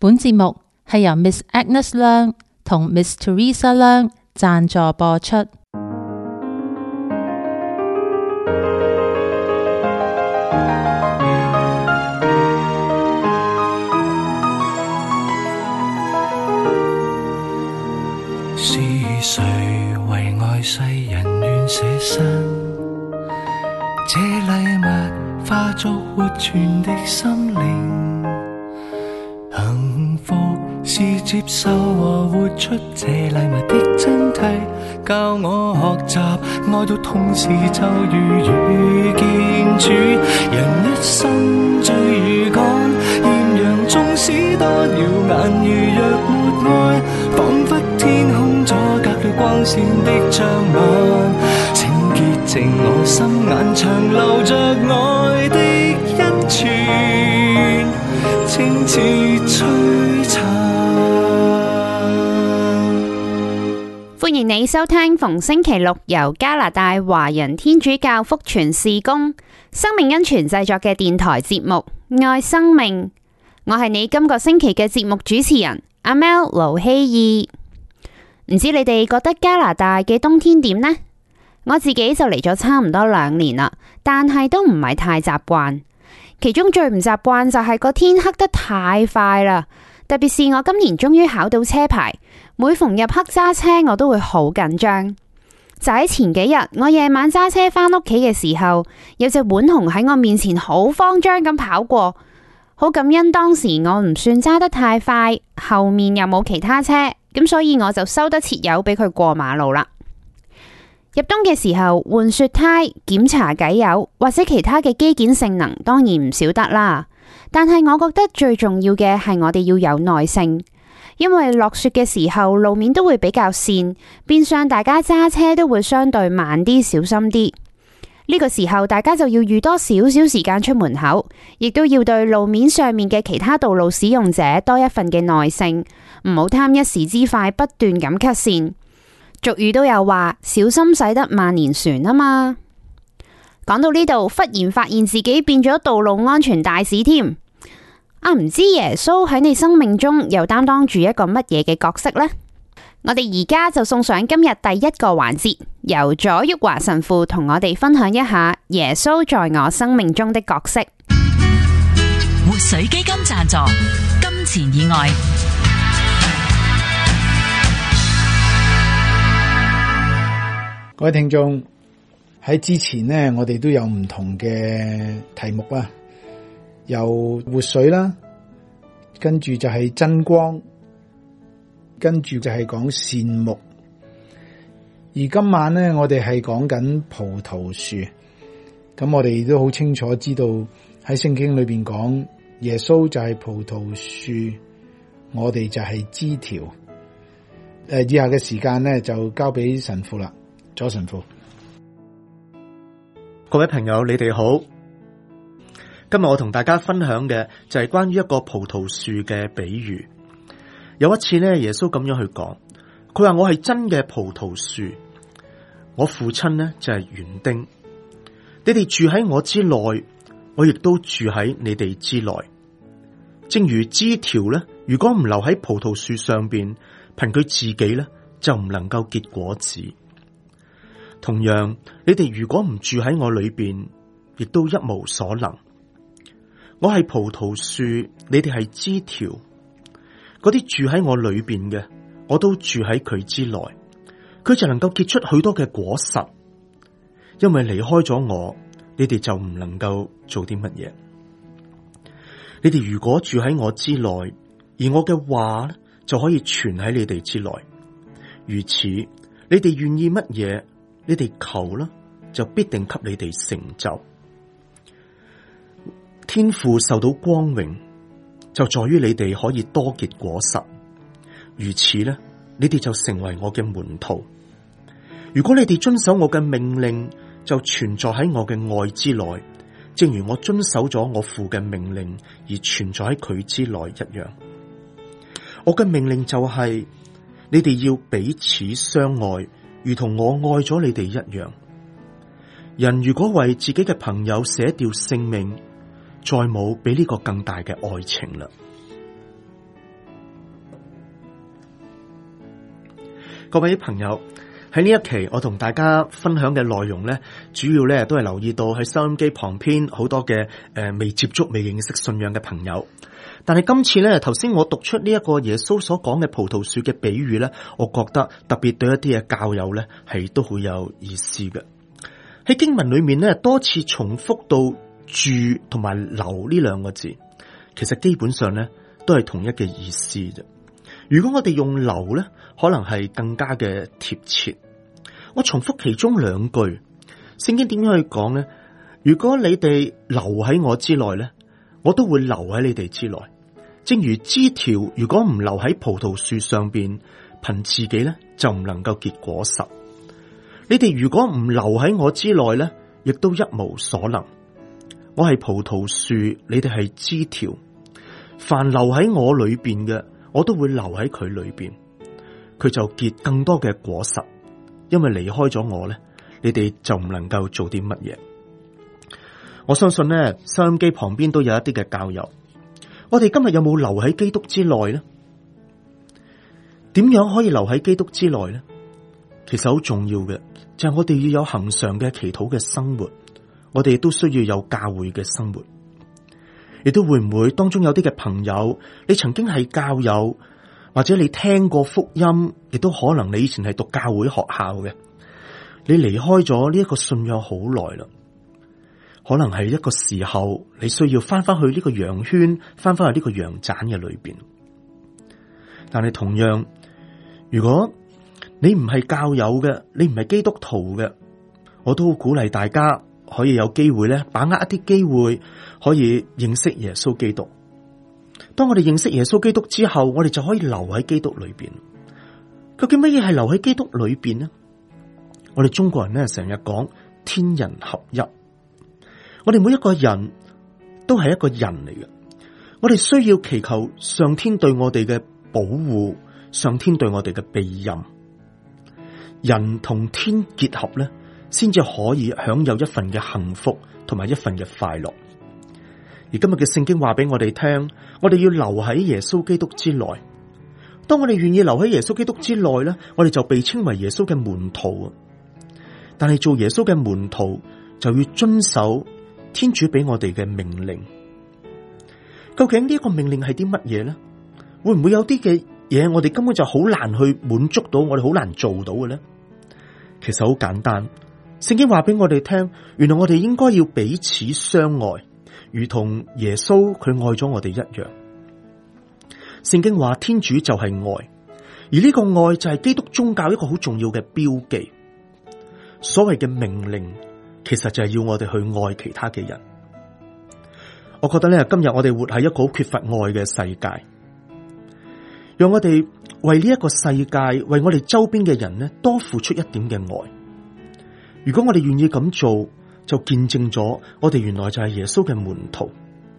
本節目係由 Miss Agnes 梁同 Miss Teresa 梁贊助播出。 是誰為愛世人願捨身？這禮物化作活存的心靈。幸福是接受和活出這禮物的真諦，教我學習愛到同時就如遇見主。人一生最如趕，豔陽縱使多耀眼，如若沒愛，彷彿天空阻隔了光線的障礙。請潔淨我心眼，長留着愛的恩泉，清似璀璨。 歡迎你收聽逢星期六由加拿大華人天主教福傳事工生命恩泉製作嘅電台節目《愛生命》。我係你今個星期嘅節目主持人阿 Mel 盧希義。唔知你哋覺得加拿大嘅冬天點呢？我自己就嚟咗差唔多2年啦，但係都唔係太習慣。其中最唔習慣就係個天黑得太快啦，特別是我今年終於考到車牌，每逢入黑揸車我都會好緊張。就喺前幾日，我夜晚揸車返屋企嘅時候，有隻浣熊喺我面前好慌張咁跑過，好感恩當時我唔算揸得太快，後面又冇其他車，咁所以我就收得切油俾佢過馬路啦。入冬嘅時候換雪胎、檢查偈油或者其他嘅機件性能當然唔少得啦，但係我覺得最重要嘅係我哋要有耐性，因為落雪嘅時候路面都會比較跣，變相大家揸車都會相對慢啲、小心啲。呢個時候大家就要預多少少時間出門口，亦都要對路面上面嘅其他道路使用者多一份嘅耐性，唔好貪一時之快，不斷咁 cut 線。俗語都有話，小心駛得萬年船啊嘛。講到呢度，忽然發現自己變咗道路安全大使添。唔知耶穌喺你生命中又擔當住一個乜嘢嘅角色呢？我哋而家就送上今日第一個環節，由左旭華神父同我哋分享一下耶穌在我生命中的角色。 活水基金贊助，金錢以外。 各位聽眾，喺之前呢，我哋都有唔同嘅題目啊，有活水啦，跟住就係真光，跟住就係講善牧。而今晚呢，我哋係講緊葡萄樹。咁我哋都好清楚知道喺聖經裏邊講，耶穌就係葡萄樹，我哋就係枝條。以下嘅時間呢，就交俾神父啦。左神父， 各位朋友，你哋好。今日我同大家分享嘅就係關於一個葡萄樹嘅比喻。有一次呢，耶穌咁樣去講，佢話我係真嘅葡萄樹，我父親呢就係園丁。你哋住喺我之內，我亦都住喺你哋之內。正如枝條呢，如果唔留喺葡萄樹上邊，憑佢自己呢，就唔能夠結果子。同樣，你哋如果唔住喺我裏邊，亦都一無所能。我係葡萄樹，你哋係枝條。嗰啲住喺我裏邊嘅，我都住喺佢之內，佢就能夠結出許多嘅果實。因為離開咗我，你哋就唔能夠做啲乜嘢。你哋如果住喺我之內，而我嘅話呢，就可以存喺你哋之內。如此，你哋願意乜嘢？你哋求啦，就必定給你哋成就。天父受到光榮，就在於你哋可以多結果實。如此呢，你哋就成為我嘅門徒。如果你哋遵守我嘅命令，就存在喺我嘅愛之內，正如我遵守咗我父嘅命令而存在喺佢之內一樣。我嘅命令就係，你哋要彼此相愛，如同我愛咗你哋一樣。人如果為自己嘅朋友捨掉性命，再冇比呢個更大嘅愛情啦。 各位朋友，喺呢一期我同大家分享嘅內容呢，主要呢都係留意到喺收音機旁邊好多嘅未接觸、未認識信仰嘅朋友。但係今次呢，頭先我讀出呢一個耶穌所講嘅葡萄樹嘅比喻呢，我覺得特別對一啲嘅教友呢係都好有意思嘅。喺經文裏面呢，多次重複到住同埋留呢兩個字，其實基本上呢都係同一嘅意思啫。如果我哋用留呢，可能係更加嘅貼切。我重複其中兩句，聖經點樣去講呢？如果你哋留喺我之內呢，我都會留喺你哋之內。正如枝條如果唔留喺葡萄樹上邊，憑自己呢就唔能夠結果實。你哋如果唔留喺我之內呢，亦都一無所能。我係葡萄樹，你哋係枝條。凡留喺我裏邊嘅，我都會留喺佢裏邊，佢就結更多嘅果實。因為離開咗我咧，你哋就唔能夠做啲乜嘢。我相信咧，收音機旁邊都有一啲嘅教友，我哋今日有冇留喺基督之內呢？點樣可以留喺基督之內呢？其實好重要嘅就係我哋要有恆常嘅祈禱嘅生活，我哋都需要有教會嘅生活。亦都會唔會當中有啲嘅朋友，你曾經係教友，或者你聽過福音，亦都可能你以前係讀教會學校嘅，你離開咗呢一個信仰好耐啦，可能係一個時候你需要翻返去呢個羊圈，翻返去呢個羊棧嘅裏邊。但係同樣，如果你唔係教友嘅，你唔係基督徒嘅，我都鼓勵大家可以有機會咧，把握一啲機會，可以認識耶穌基督。當我哋認識耶穌基督之後，我哋就可以留喺基督裏邊。究竟乜嘢係留喺基督裏邊呢？我哋中國人咧成日講天人合一，我哋每一個人都係一個人嚟嘅，我哋需要祈求上天對我哋嘅保護，上天對我哋嘅庇蔭。人同天結合咧，先至可以享有一份嘅幸福同埋一份嘅快樂。而今日嘅聖經話俾我哋聽，我哋要留喺耶穌基督之內。當我哋願意留喺耶穌基督之內咧，我哋就被稱為耶穌嘅門徒。但係做耶穌嘅門徒就要遵守天主俾我哋嘅命令。究竟呢一個命令係啲乜嘢咧？會唔會有啲嘅嘢我哋根本就好難去滿足到，我哋好難做到嘅咧？其實好簡單，聖經話俾我哋聽，原來我哋應該要彼此相愛，如同耶穌佢愛咗我哋一樣。聖經話天主就係愛，而呢個愛就係基督宗教一個好重要嘅標記。所謂嘅命令，其實就係要我哋去愛其他嘅人。我覺得咧，今日我哋活喺一個好缺乏愛嘅世界，讓我哋為呢一個世界，為我哋周邊嘅人咧，多付出一點嘅愛。如果我哋願意咁做，就見證咗我哋原來就係耶穌嘅門徒。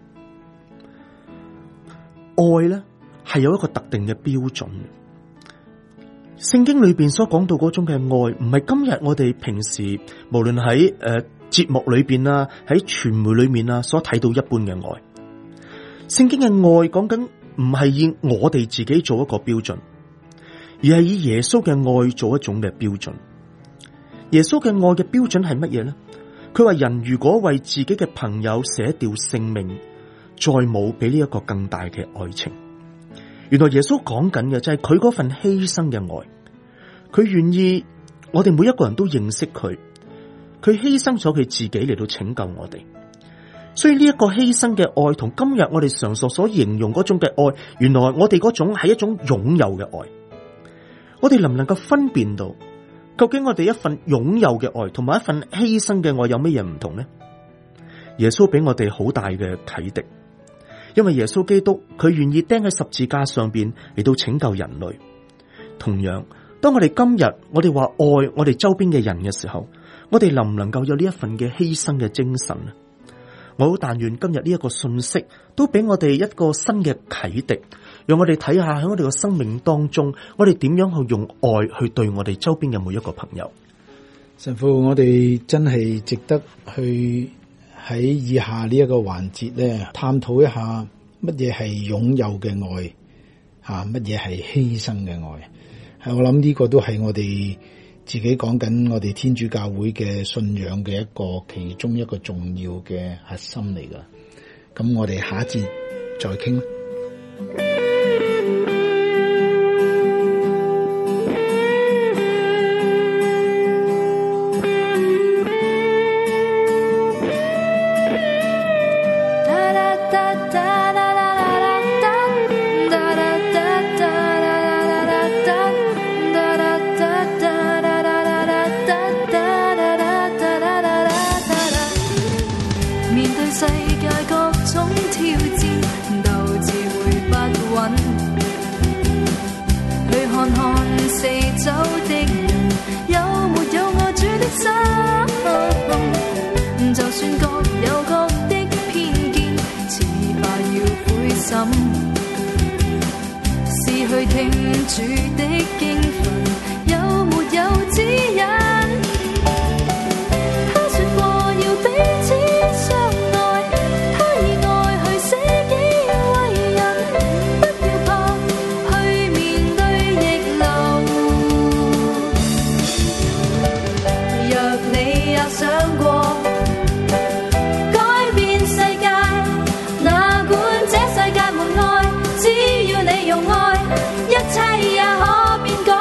愛咧係有一個特定嘅標準。聖經裏邊所講到嗰種嘅愛，唔係今日我哋平時無論喺節目裏邊啊，喺傳媒裏面啊所睇到一般嘅愛。聖經嘅愛講緊唔係以我哋自己做一個標準，而係以耶穌嘅愛做一種嘅標準。耶穌嘅愛嘅標準係乜嘢呢？佢話人如果為自己嘅朋友捨掉性命，再冇比呢一個更大嘅愛情。原來耶穌講緊嘅就係佢嗰份犧牲嘅愛，佢願意我哋每一個人都認識佢，佢犧牲咗佢自己嚟到拯救我哋。所以呢一個犧牲嘅愛同今日我哋常所形容嗰種嘅愛，原來我哋嗰種係一種擁有嘅愛。我哋能唔能夠分辨到究竟我哋一份擁有嘅愛同埋一份犧牲嘅愛有乜嘢唔同呢？耶穌俾我哋好大嘅啟迪，因為耶穌基督佢願意釘喺十字架上邊嚟到拯救人類。同樣，當我哋今日我哋話愛我哋周邊嘅人嘅時候，我哋能唔能夠有呢一份嘅犧牲嘅精神呢？我好但願今日呢一個信息都俾我哋一個新嘅啟迪，讓我哋睇下喺我哋嘅生命當中，我哋點樣去用愛去對我哋周邊嘅每一個朋友。 神父，我哋真係值得去喺以下呢一個環節咧，探討一下乜嘢係擁有嘅愛，乜嘢係犧牲嘅愛。 我諗呢個都係我哋自己講緊我哋天主教會嘅信仰嘅其中一個重要嘅核心嚟㗎。咁我哋下一節再傾。 試去聽主的經訓，有沒有指引？他說過要彼此相愛，他以愛去捨己為人，不要怕去面對逆流。若你也想過改變世界，哪管這世界沒愛，只要你用愛，一切也可變改。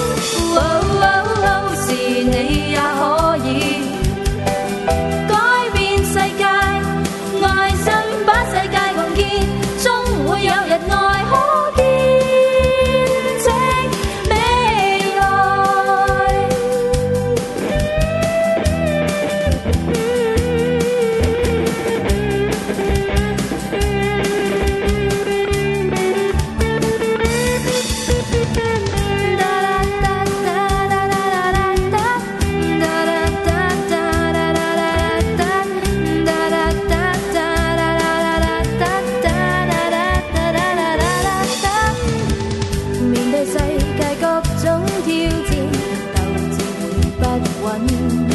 是你也可以改變世界，愛心把世界共建，終會有日愛可見證未來。面對世界各種挑戰，鬥志會不穩，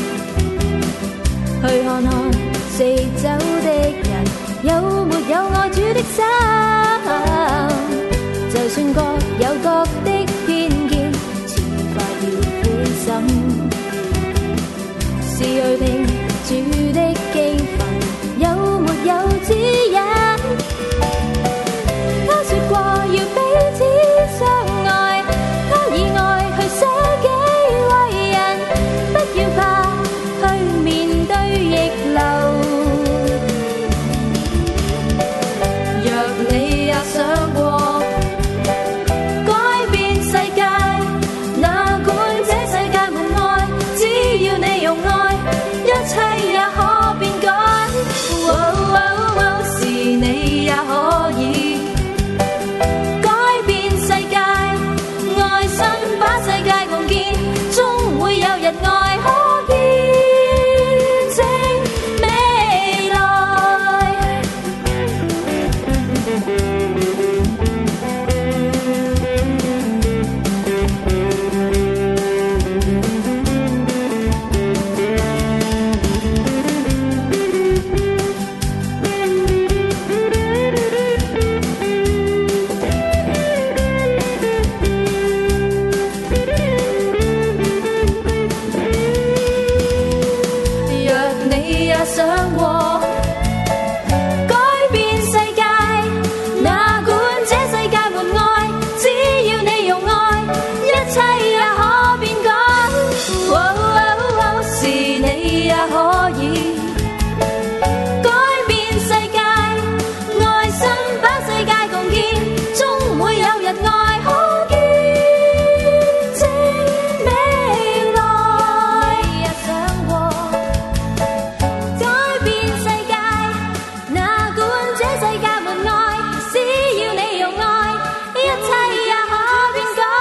去看看四周的人，有沒有愛主的心？就算各有各的偏見，遲快要灰心。試去聽主的經訓，有沒有指引？他說過要彼此相愛，他以愛去捨己為人，不要怕去面對逆流。若你也想過改變世界，哪管這世界沒愛，只要你用愛，一切也可變改。是你也可以改變世界，愛心把世界共建，終會有日愛可見證未來。若你也想過改變世界，哪管這世界沒愛，只要你用愛，一切也可變改。是你也可以改變世界，愛心把世界共建，終會有日愛可見證未來。也想過改變世界，哪管這世界沒愛，只要你用愛，一切也可變改。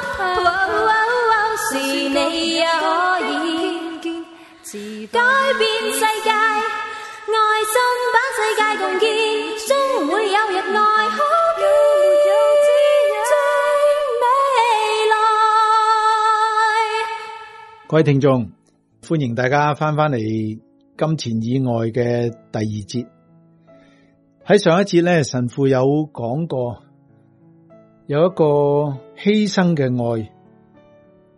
是你也可以改變世界，愛心把世界共建，終會有日愛可見證未來。 各位聽眾，歡迎大家翻嚟金錢以外嘅第二節。喺上一節咧，神父有講過有一個犧牲嘅愛，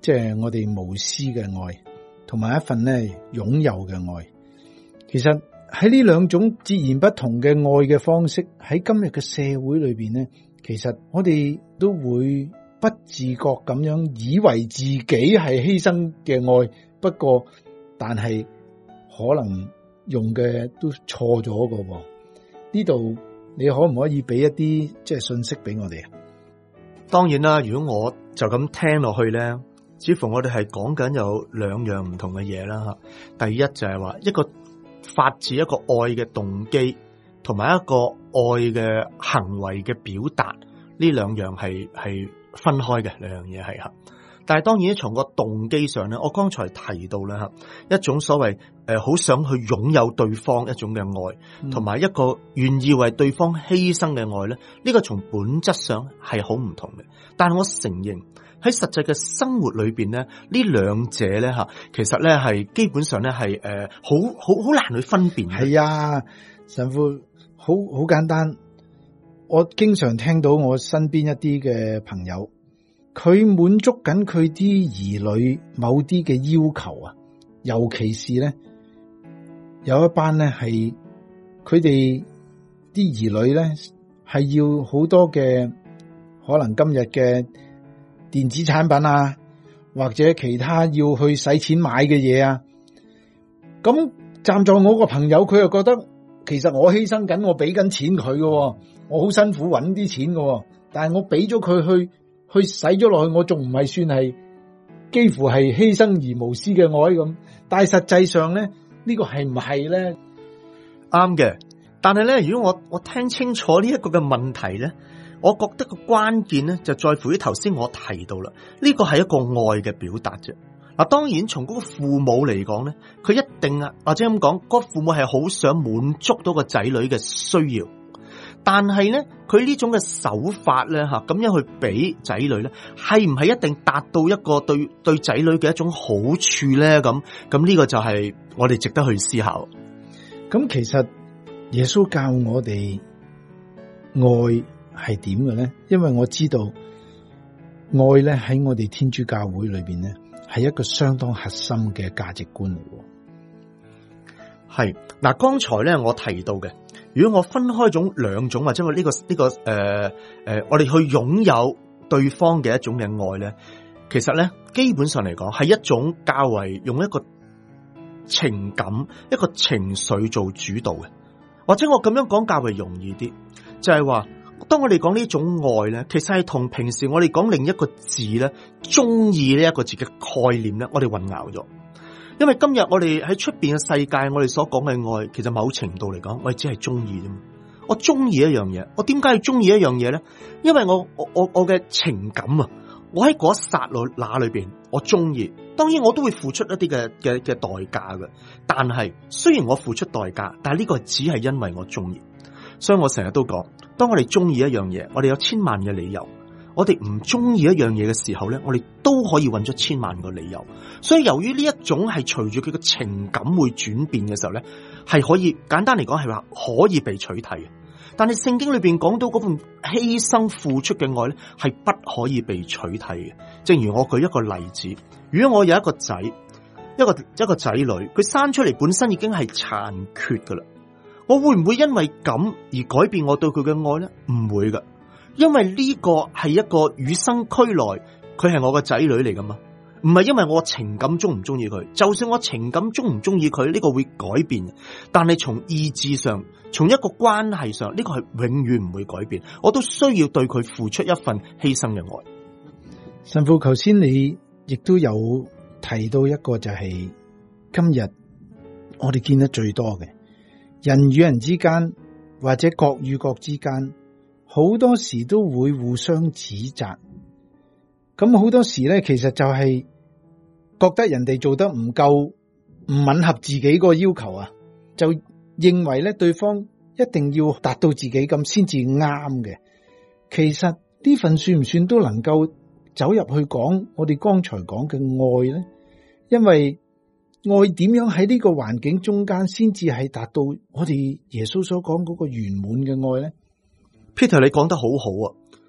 即係我哋無私嘅愛，同埋一份咧擁有嘅愛。其實喺呢兩種截然不同嘅愛嘅方式，喺今日嘅社會裏邊咧，其實我哋都會不自覺咁樣以為自己係犧牲嘅愛，不過但係可能用嘅都錯咗㗎喎。呢度你可唔可以俾一啲即係信息俾我哋啊？ 當然啦，如果我就咁聽落去咧，似乎我哋係講緊有兩樣唔同嘅嘢啦吓。第一就係話一個發自一個愛嘅動機，同埋一個愛嘅行為嘅表達，呢兩樣係分開嘅兩樣嘢係吓。但係當然從個動機上咧，我剛才提到啦吓，一種所謂好想去擁有對方一種嘅愛，同埋一個願意為對方犧牲嘅愛咧，呢個從本質上係好唔同嘅。但係我承認喺實際嘅生活裏邊咧，呢兩者咧吓，其實咧係基本上咧係好難去分辨。 係啊，神父好簡單。我經常聽到我身邊一啲嘅朋友，佢滿足緊佢啲兒女某啲嘅要求啊，尤其是咧有一班咧係佢哋啲兒女咧係要好多嘅可能今日嘅電子產品啊，或者其他要去使錢買嘅嘢啊。咁站在我個朋友，佢又覺得其實我犧牲緊，我俾緊錢佢嘅，我好辛苦揾啲錢嘅，但係我俾咗佢去使咗落去，我仲唔係算係幾乎係犧牲而無私嘅愛咁？但係實際上咧，呢個係唔係咧？ 啱嘅。但係咧，如果我聽清楚呢一個嘅問題咧，我覺得個關鍵咧就在乎於頭先我提到啦，呢個係一個愛嘅表達啫。嗱，當然從嗰個父母嚟講咧，佢一定啊，或者咁講，嗰個父母係好想滿足到個仔女嘅需要。但係咧，佢呢種嘅手法咧吓，咁樣去俾仔女咧，係唔係一定達到一個對仔女嘅一種好處咧？咁呢個就係我哋值得去思考。 咁其實耶穌教我哋愛係點嘅咧？因為我知道愛咧喺我哋天主教會裏邊咧係一個相當核心嘅價值觀嚟嘅。 係嗱，剛才咧我提到嘅。如果我分開兩種，或者我我哋去擁有對方嘅一種嘅愛咧，其實咧基本上嚟講係一種較為用一個情感、一個情緒做主導嘅，或者我咁樣講較為容易啲，就係話當我哋講呢種愛咧，其實係同平時我哋講另一個字咧，中意呢一個字嘅概念咧，我哋混淆咗。因為今日我哋喺出邊嘅世界，我哋所講嘅愛，其實某程度嚟講，我哋只係中意啫嘛。我中意一樣嘢，我點解要中意一樣嘢咧？因為我嘅情感啊，我喺嗰一剎那裏邊，我中意。當然我都會付出一啲嘅代價嘅，但係雖然我付出代價，但係呢個只係因為我中意。所以我成日都講，當我哋中意一樣嘢，我哋有千萬嘅理由。我哋唔中意一樣嘢嘅時候咧，我哋都可以揾出千萬個理由。所以由於呢一種係隨住佢嘅情感會轉變嘅時候咧，係可以簡單嚟講係話可以被取替嘅。但係聖經裏邊講到嗰份犧牲付出嘅愛咧，係不可以被取替嘅。正如我舉一個例子，如果我有一個仔，一個仔女，佢生出嚟本身已經係殘缺噶啦，我會唔會因為咁而改變我對佢嘅愛咧？唔會噶。因為呢個係一個與生俱來，佢係我個仔女嚟噶嘛，唔係因為我情感中唔中意佢，就算我情感中唔中意佢，呢個會改變，但係從意志上，從一個關係上，呢個係永遠唔會改變，我都需要對佢付出一份犧牲嘅愛。 神父，頭先你亦都有提到一個就係今日我哋見得最多嘅人與人之間，或者國與國之間。好多時都會互相指責，咁好多時咧，其實就係覺得人哋做得唔夠，唔吻合自己個要求啊，就認為咧對方一定要達到自己咁先至啱嘅。其實呢份算唔算都能夠走入去講我哋剛才講嘅愛咧？因為愛點樣喺呢個環境中間先至係達到我哋耶穌所講嗰個圓滿嘅愛咧？ Peter， 你講得好好啊！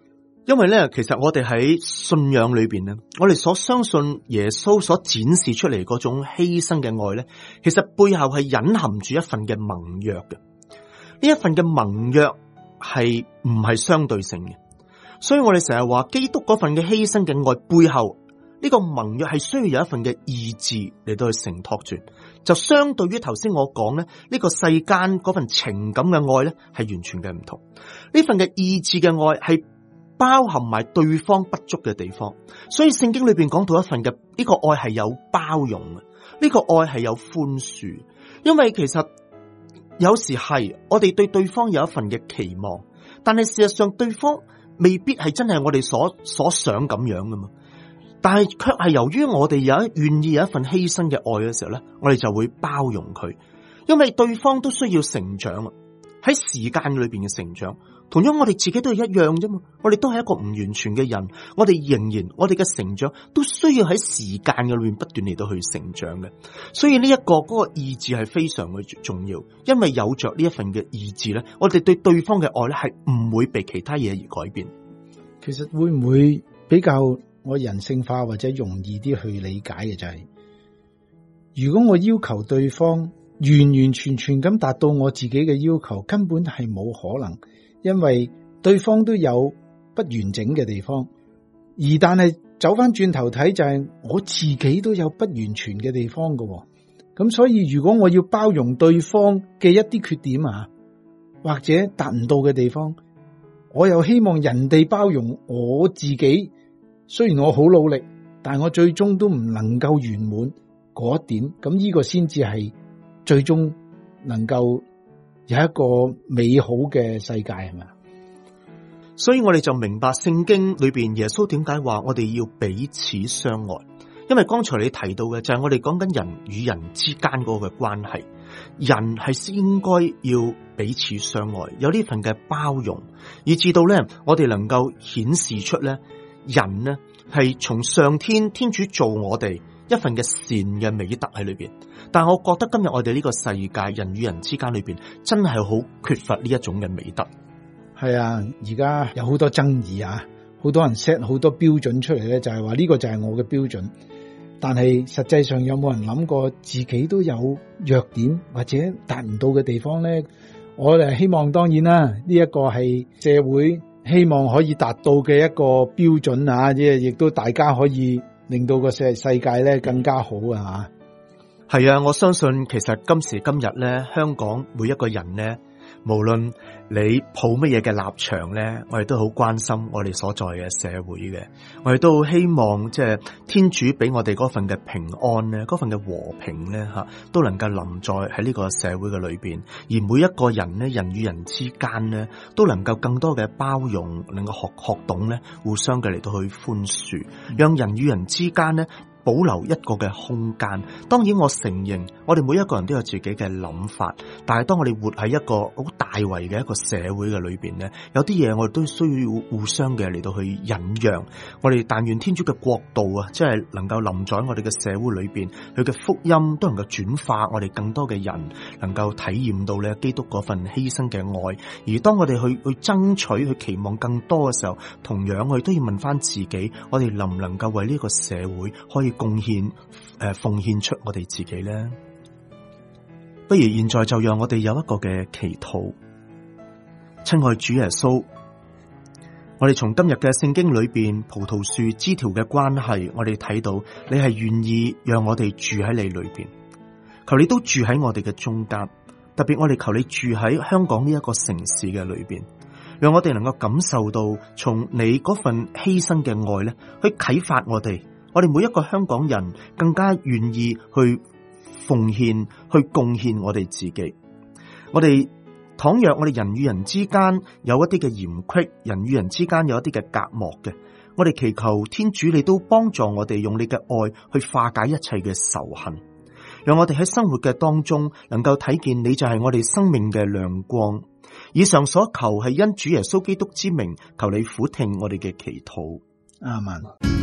因為咧，其實我哋喺信仰裏邊咧，我哋所相信耶穌所展示出嚟嗰種犧牲嘅愛咧，其實背後係隱含住一份嘅盟約嘅。呢一份嘅盟約係唔係相對性嘅，所以我哋成日話基督嗰份嘅犧牲嘅愛背後，呢個盟約係需要有一份嘅意志嚟到去承托住，就相對於頭先我講咧，呢個世間嗰份情感嘅愛咧係完全嘅唔同。呢份嘅意志嘅愛係包含埋對方不足嘅地方，所以聖經裏邊講到一份嘅呢個愛係有包容嘅，呢個愛係有寬恕。因為其實有時係我哋對對方有一份嘅期望，但係事實上對方未必係真係我哋所想咁樣噶嘛。但係卻係由於我哋願意有一份犧牲嘅愛嘅時候咧，我哋就會包容佢，因為對方都需要成長啊，喺時間裏邊嘅成長。同樣我哋自己都係一樣啫嘛，我哋都係一個唔完全嘅人，我哋嘅成長都需要喺時間嘅裏面不斷嚟到去成長嘅。所以呢一個嗰個意志係非常嘅重要，因為有着呢一份嘅意志咧，我哋對對方嘅愛咧係唔會被其他嘢而改變。 其實會唔會比較我人性化或者容易啲去理解嘅就係，如果我要求對方完完全全咁達到我自己嘅要求，根本係冇可能。因為對方都有不完整嘅地方，而但係走翻轉頭睇就係我自己都有不完全嘅地方嘅，咁所以如果我要包容對方嘅一啲缺點啊，或者達唔到嘅地方，我又希望人哋包容我自己，雖然我好努力，但我最終都唔能夠圓滿嗰一點，咁呢個先至係最終能夠有一個美好嘅世界，係咪？ 所以我哋就明白聖經裏邊耶穌點解話我哋要彼此相愛，因為剛才你提到嘅就係我哋講緊人與人之間嗰個關係，人係應該要彼此相愛，有呢份嘅包容，以至到咧我哋能夠顯示出咧人呢係從上天主做我哋一份嘅善嘅美德喺裏邊。但我覺得今日我哋呢個世界人與人之間裏邊真係好缺乏呢一種嘅美德。 係啊，而家有好多爭議啊，好多人 set 好多標準出嚟咧，就係話呢個就係我嘅標準。但係實際上有冇人諗過自己都有弱點或者達唔到嘅地方咧？我哋希望當然啦，呢一個係社會希望可以達到嘅一個標準啊，亦都大家可以令到個世界咧更加好啊。 係啊，我相信其實今時今日咧，香港每一個人咧，無論你抱乜嘢嘅立場咧，我哋都好關心我哋所在嘅社會嘅，我哋都好希望即係天主俾我哋嗰份嘅平安咧，嗰份嘅和平咧吓，都能夠臨在喺呢個社會嘅裏邊，而每一個人咧，人與人之間咧，都能夠更多嘅包容，能夠學懂咧，互相嘅嚟到去寬恕，讓人與人之間咧保留一個嘅空間。當然我承認我哋每一個人都有自己嘅諗法，但係當我哋活喺一個好大圍嘅一個社會嘅裏邊咧，有啲嘢我哋都需要互相嘅嚟到去忍讓。我哋但願天主嘅國度啊，即係能夠臨在我哋嘅社會裏邊，佢嘅福音都能夠轉化我哋更多嘅人，能夠體驗到咧基督嗰份犧牲嘅愛。而當我哋去爭取去期望更多嘅時候，同樣我哋都要問翻自己，我哋能唔能夠為呢個社會可以貢獻奉獻出我哋自己呢？不如現在就讓我哋有一個嘅祈禱。親愛主耶穌，我哋從今日嘅聖經裏邊葡萄樹枝條嘅關係，我哋睇到你係願意讓我哋住喺你裏邊，求你都住喺我哋嘅中間，特別我哋求你住喺香港呢一個城市嘅裏邊，讓我哋能夠感受到從你嗰份犧牲嘅愛咧，去啟發我哋每一個香港人更加願意去奉獻、去貢獻我哋自己。倘若我哋人與人之間有一啲嘅嫌隙，人與人之間有一啲嘅隔膜嘅，我哋祈求天主你都幫助我哋用你嘅愛去化解一切嘅仇恨，讓我哋喺生活嘅當中能夠睇見你就係我哋生命嘅亮光。以上所求係因主耶穌基督之名，求你俯聽我哋嘅祈禱。 阿們。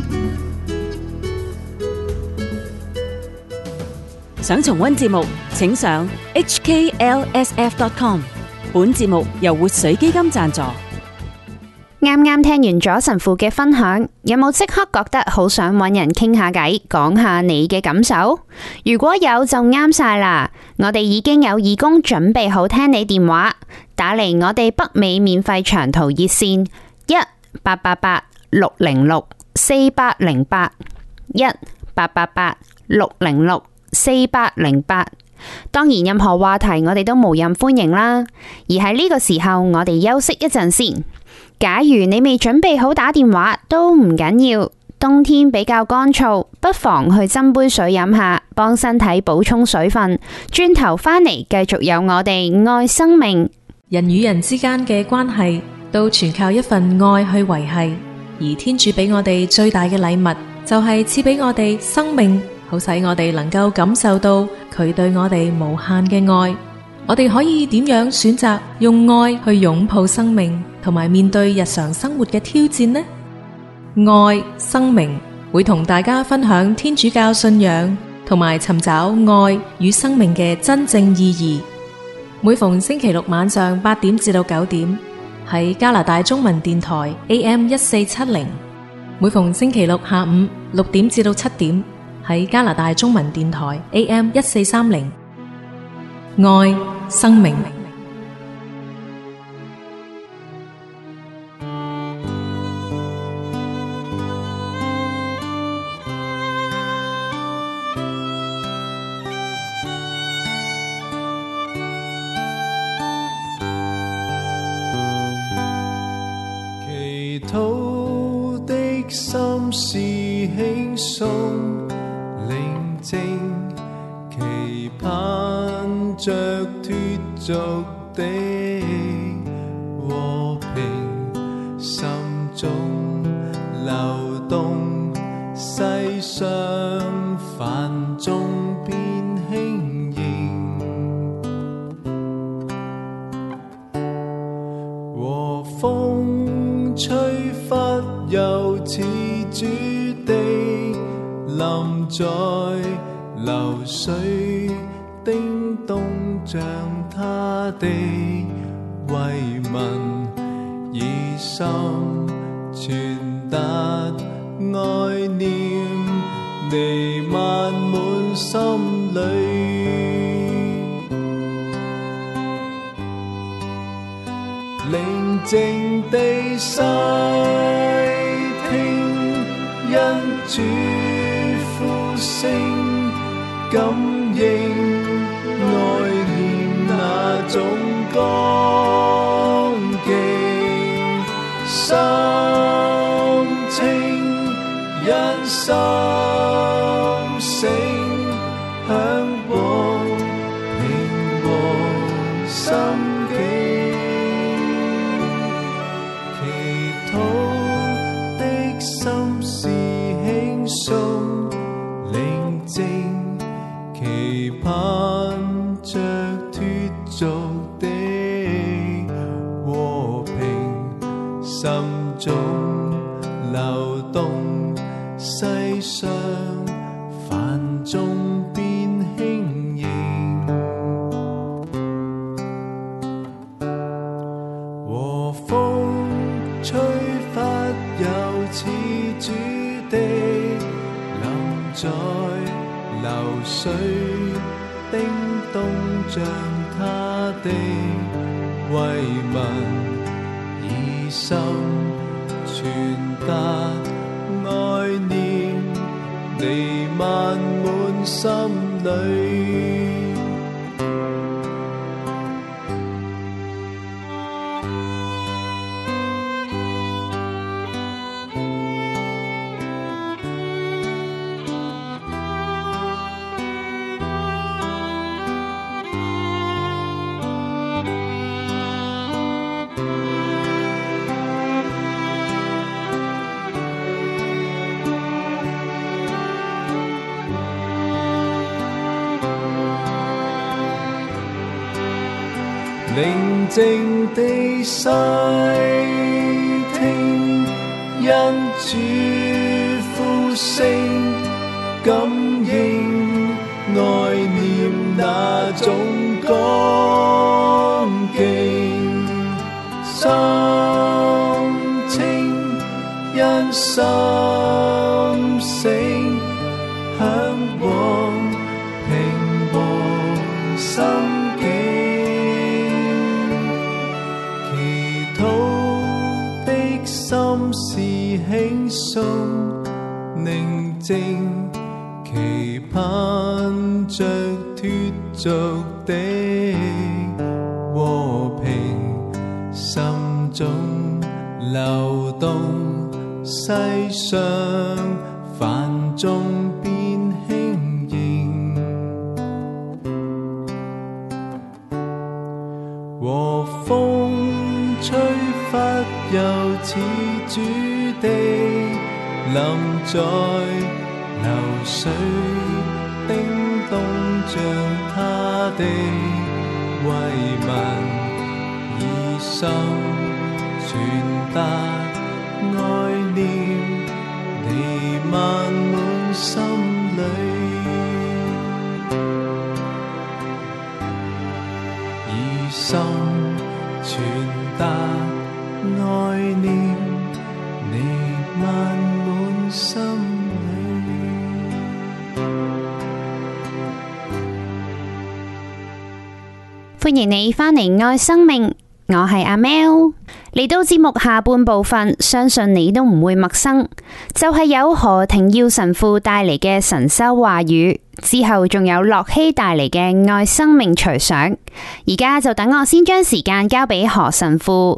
想重溫節目，請上 hklsf.com。本節目由活水基金贊助。 啱啱聽完咗神父嘅分享，有冇即刻覺得好想揾人傾下偈，講下你嘅感受？如果有就啱晒啦！我哋已經有義工準備好聽你電話，打嚟我哋北美免費長途熱線1-888-606-4808 1-888-606-4808。當然任何話題我哋都無任歡迎啦。而喺呢個時候，我哋休息一陣先。假如你未準備好打電話都唔緊要，冬天比較乾燥，不妨去斟杯水飲下，幫身體補充水分。轉頭返嚟繼續有我哋愛生命。 人與人之間嘅關係都全靠一份愛去維繫，而天主俾我哋最大嘅禮物就係賜俾我哋生命，好使我哋能夠感受到佢對我哋無限嘅愛。我哋可以點樣選擇用愛去擁抱生命，同埋面對日常生活嘅挑戰呢？愛生命會同大家分享天主教信仰，同埋尋找愛與生命嘅真正意義。每逢星期六晚上8點至到9點，喺加拿大中文電台 AM1470；每逢星期六下午6點至到7點，喺加拿大中文電台 AM1430。愛生命。 祈禱的心是輕鬆寧靜，期盼着脫俗的和平，心中流動，世上繁重變輕盈，和風吹拂又似主地臨在流水，叮咚像他的慰問，以心傳達愛念，彌漫滿心裏。寧靜地細聽，因主呼聲感應，愛念那種剛勁，心清因心醒，向往平和心境。心是輕鬆寧靜，期盼着脫俗的和平，心中流動，世上繁重變輕盈，和風吹拂又似主地臨在流水，叮咚像他的慰問，以心傳達愛念，彌漫滿心裏。寧靜地細聽，因主呼聲感應，愛念那種剛勁，心清心醒，向往平和心境，祈禱的心是輕鬆寧靜，期盼着脫俗的和平，心中流動，世上繁重變輕盈，和風吹拂又似主的臨在，流水叮咚像他的慰問，以心傳達愛念，彌漫滿心裏，以心傳達愛念，彌漫滿心裏。 歡迎你返嚟愛生命，我係阿 Mel。嚟到節目下半部分，相信你都唔會陌生，就係有何庭耀神父帶嚟嘅神修話語，之後仲有樂希帶嚟嘅愛生命隨想。而家就等我先將時間交俾何神父。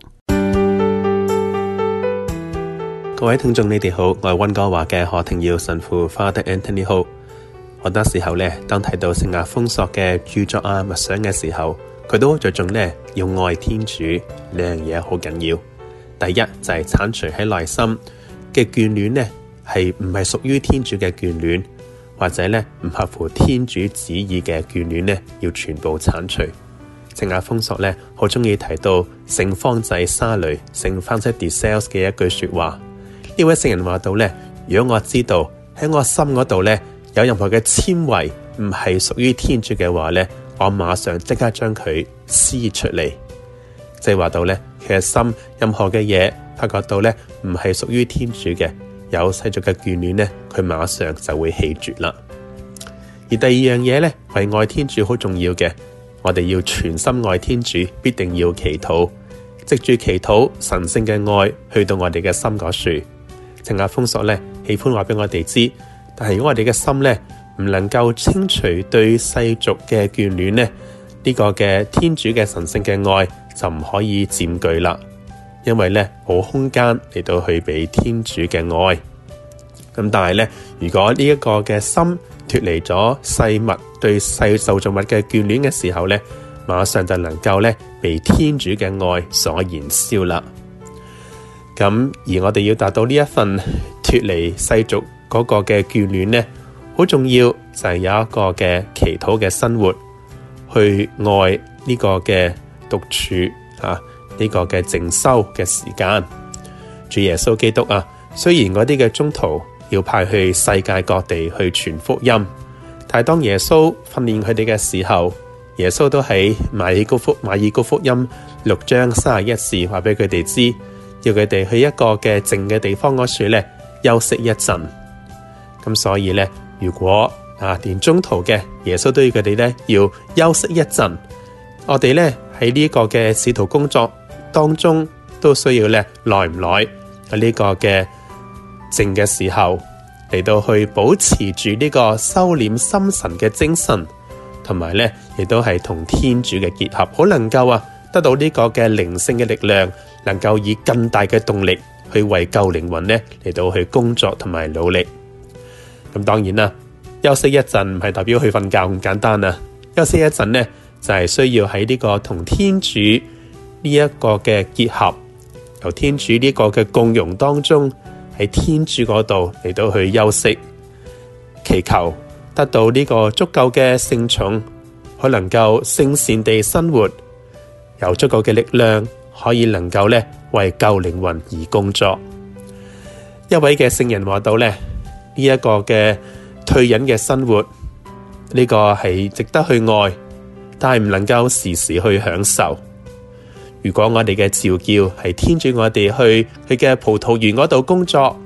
各位聽眾你哋好，我係溫哥華嘅何庭耀神父 Father Anthony Ho。好多時候呢，當睇到聖亞豐索嘅著作啊、默想嘅時候，佢都好着重呢，要愛天主，兩樣嘢好緊要。第一就係剷除喺內心嘅眷戀呢，係唔係屬於天主嘅眷戀，或者呢唔合乎天主旨意嘅眷戀呢，要全部剷除。聖亞豐索呢，好中意提到聖方濟沙雷聖 Francis de Sales 嘅一句說話。呢位聖人話到呢，如果我知道喺我心嗰度呢，有任何嘅纖維唔係屬於天主嘅話呢，我馬上即刻將佢撕出嚟。即係話到呢，其實心任何嘅嘢發覺到呢唔係屬於天主嘅，有世俗嘅眷戀呢，佢馬上就會棄絕啦。而第二樣嘢呢，為愛天主好重要嘅，我哋要全心愛天主，必定要祈禱，藉住祈禱神聖嘅愛去到我哋嘅心嗰處。聖亞豐索呢，喜歡話俾我哋知，但係如果我哋嘅心呢，唔能夠清除對世俗嘅眷戀呢，呢個嘅天主嘅神聖嘅愛就唔可以佔據啦，因為呢冇空間嚟到去俾天主嘅愛。咁但係呢，如果呢一個嘅心脫離咗世物對世受造物嘅眷戀嘅時候呢，馬上就能夠呢被天主嘅愛所燃燒啦。咁而我哋要達到呢一份脫離世俗嗰個嘅眷戀呢，好重要就係有一個嘅祈禱嘅生活，去愛呢個嘅獨處呢個嘅靜修嘅時間。主耶穌基督啊，雖然嗰啲嘅宗徒要派去世界各地去傳福音，但係當耶穌訓練佢哋嘅時候，耶穌都喺馬爾谷福音6章31節話俾佢哋知，要佢哋去一個嘅靜嘅地方嗰處咧休息一陣。咁所以咧，如果連中途嘅耶穌都要佢哋咧要休息一陣，我哋咧喺呢個嘅使徒工作當中都需要咧耐唔耐喺呢個嘅靜嘅時候嚟到去保持住呢個收斂心神嘅精神，同埋咧亦都係同天主嘅結合，好能夠得到呢個嘅靈性嘅力量，能夠以更大嘅動力去為救靈魂咧嚟到去工作同埋努力。咁當然啦，休息一陣唔係代表去瞓覺咁簡單啊！休息一陣呢，就係需要喺呢個同天主呢一個嘅結合，由天主呢個嘅共融當中，喺天主嗰度嚟到去休息，祈求得到呢個足夠嘅聖寵，可能夠聖善地生活，有足夠嘅力量，可以能夠咧為救靈魂而工作。一位嘅聖人話到咧，呢一個嘅退隱嘅生活，呢個係值得去愛，但係唔能夠時時去享受。如果我哋嘅召叫係天主我哋去佢嘅葡萄園嗰度工作，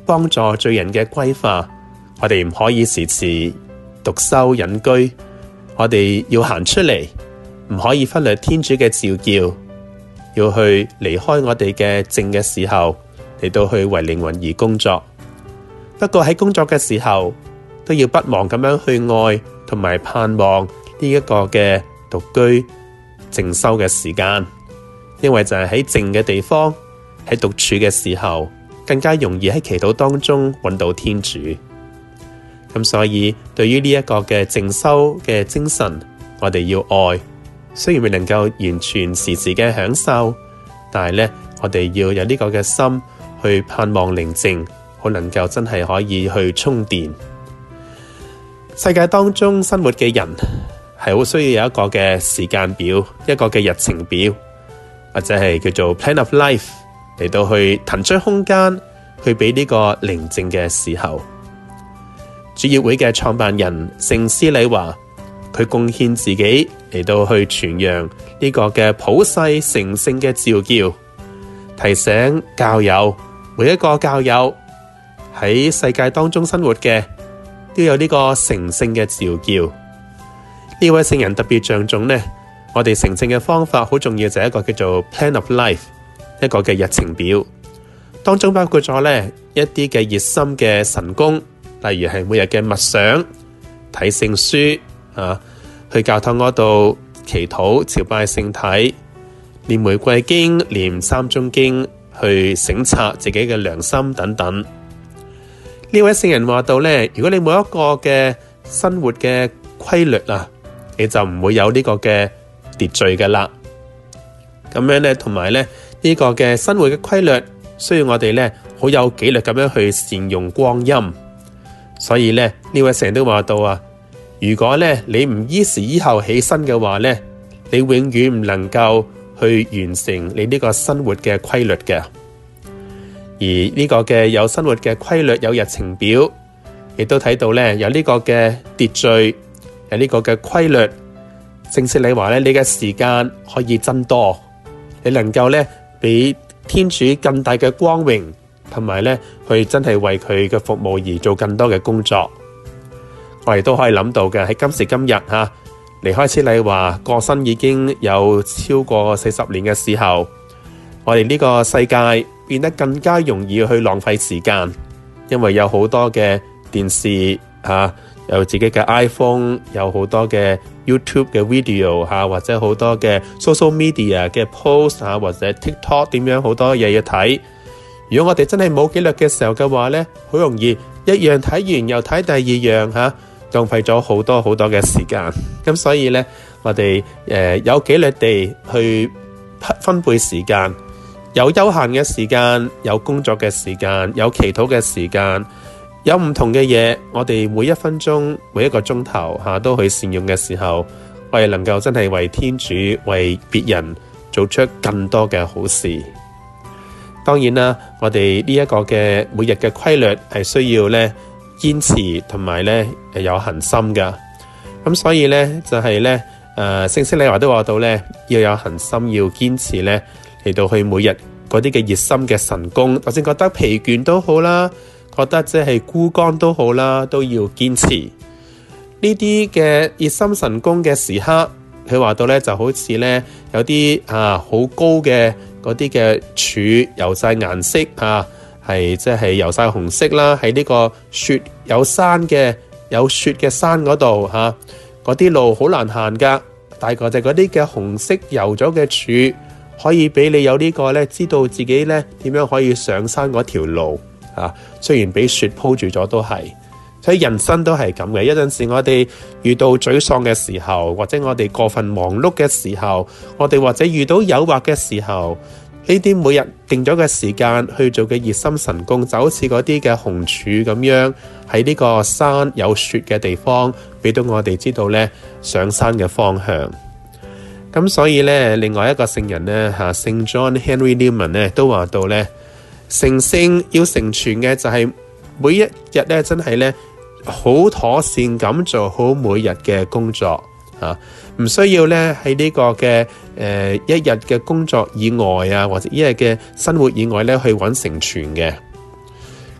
幫助罪人嘅歸化。我哋唔可以時時獨修隱居，我哋要行出嚟，唔可以忽略天主嘅召叫，要去離開我哋嘅靜嘅時候，嚟到去為靈魂而工作。不過喺工作嘅時候，都要不忘咁樣去愛同埋盼望呢一個嘅獨居靜修嘅時間，因為就係喺靜嘅地方，喺獨處嘅時候，更加容易喺祈禱當中揾到天主。咁所以對於呢一個嘅靜修嘅精神，我哋要愛，雖然未能夠完全時時嘅享受，但係呢，我哋要有呢個嘅心去盼望寧靜，好能夠真係可以去充電。世界當中生活嘅人係好需要有一個嘅時間表，一個嘅日程表，或者係叫做 plan of life， 嚟到去騰出空間去俾呢個寧靜嘅時候。主業會嘅創辦人聖施禮華，佢貢獻自己嚟到去傳揚呢個嘅普世成聖嘅召叫，提醒教友，每一個教友喺世界當中生活嘅都有呢個成聖嘅召叫。呢位聖人特別着重呢，我哋成聖嘅方法好重要，就係一個叫做 plan of life， 一個嘅日程表，當中包括咗呢一啲嘅熱心嘅神功，例如係每日嘅默想、睇聖書去教堂嗰度祈禱、朝拜聖體、念玫瑰經、念三鐘經，去省察自己嘅良心等等。呢位聖人話到呢，如果你冇一個嘅生活嘅規律你就唔會有呢個嘅秩序噶啦。咁樣呢，同埋呢個嘅生活嘅規律，需要我哋呢好有紀律咁樣去善用光陰。所以呢位聖人都話到如果呢你唔依時依候起身嘅話呢，你永遠唔能夠去完成你呢個生活嘅規律嘅。而呢個嘅有生活嘅規律，有日程表，亦都睇到呢有呢個嘅秩序，有呢個嘅規律。聖施禮華呢，你嘅時間可以增多，你能夠呢俾天主更大嘅光榮，同埋呢去真係為佢嘅服務而做更多嘅工作。我哋都可以諗到嘅，喺今時今日離開施禮華過身已經有超過40年嘅時候，我哋呢個世界變得更加容易去浪費時間，因為有好多嘅電視有自己嘅 iPhone， 有好多嘅 YouTube 嘅 video 或者好多嘅 social media 嘅 post 或者 TikTok 點樣好多嘢要睇。如果我哋真係冇紀律嘅時候嘅話呢，好容易一樣睇完又睇第二樣浪費咗好多好多嘅時間。咁所以呢，我哋有紀律地去分配時間，有休閒嘅時間，有工作嘅時間，有祈禱嘅時間，有唔同嘅嘢，我哋每一分鐘每一個鐘頭都去善用嘅時候，我哋能夠真係為天主為別人做出更多嘅好事。當然啦，我哋呢一個嘅每日嘅規律係需要呢堅持同埋呢有恒心噶。咁所以呢就係呢聖施禮華都話到呢，要有恒心，要堅持呢嚟到去每日嗰啲嘅熱心嘅神功，就算覺得疲倦都好啦，覺得即係枯乾都好啦，都要堅持呢啲嘅熱心神功嘅時刻。佢話到呢就好似呢有啲好高嘅嗰啲嘅柱油晒顏色係即係油晒紅色啦，喺呢個雪有雪嘅山嗰度嗰啲路好難行噶，大概就嗰啲嘅紅色油咗嘅柱可以俾你有呢個呢，知道自己呢點樣可以上山嗰條路雖然俾雪鋪住咗都係。所以人生都係咁嘅，有陣時我哋遇到沮喪嘅時候，或者我哋過分忙碌嘅時候，我哋或者遇到誘惑嘅時候，呢啲每日定咗嘅時間去做嘅熱心神功，就好似嗰啲嘅紅柱咁樣，喺呢個山有雪嘅地方，俾到我哋知道呢上山嘅方向。咁所以呢，另外一個聖人呢聖 John Henry Newman 呢都話到呢，成聖要成全嘅就係每一日呢真係呢好妥善咁做好每日嘅工作唔需要呢喺呢個嘅一日嘅工作以外或者一日嘅生活以外呢去揾成全嘅。